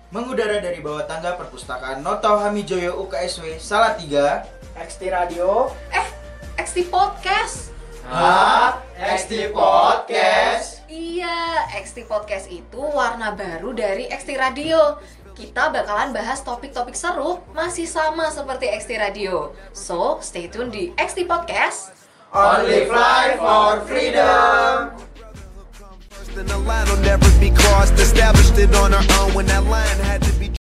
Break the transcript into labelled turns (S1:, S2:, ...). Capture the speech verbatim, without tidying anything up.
S1: Mengudara dari bawah tangga perpustakaan Noto Hamijoyo U K S W Salatiga.
S2: X T Radio.
S3: Eh, X T Podcast.
S1: Hah? X T Podcast?
S3: Iya, X T Podcast itu warna baru dari X T Radio. Kita bakalan bahas topik-topik seru masih sama seperti X T Radio. So, stay tune di X T Podcast.
S1: Only fly for freedom.
S4: The line will never be crossed. Established it on our own when that line had to be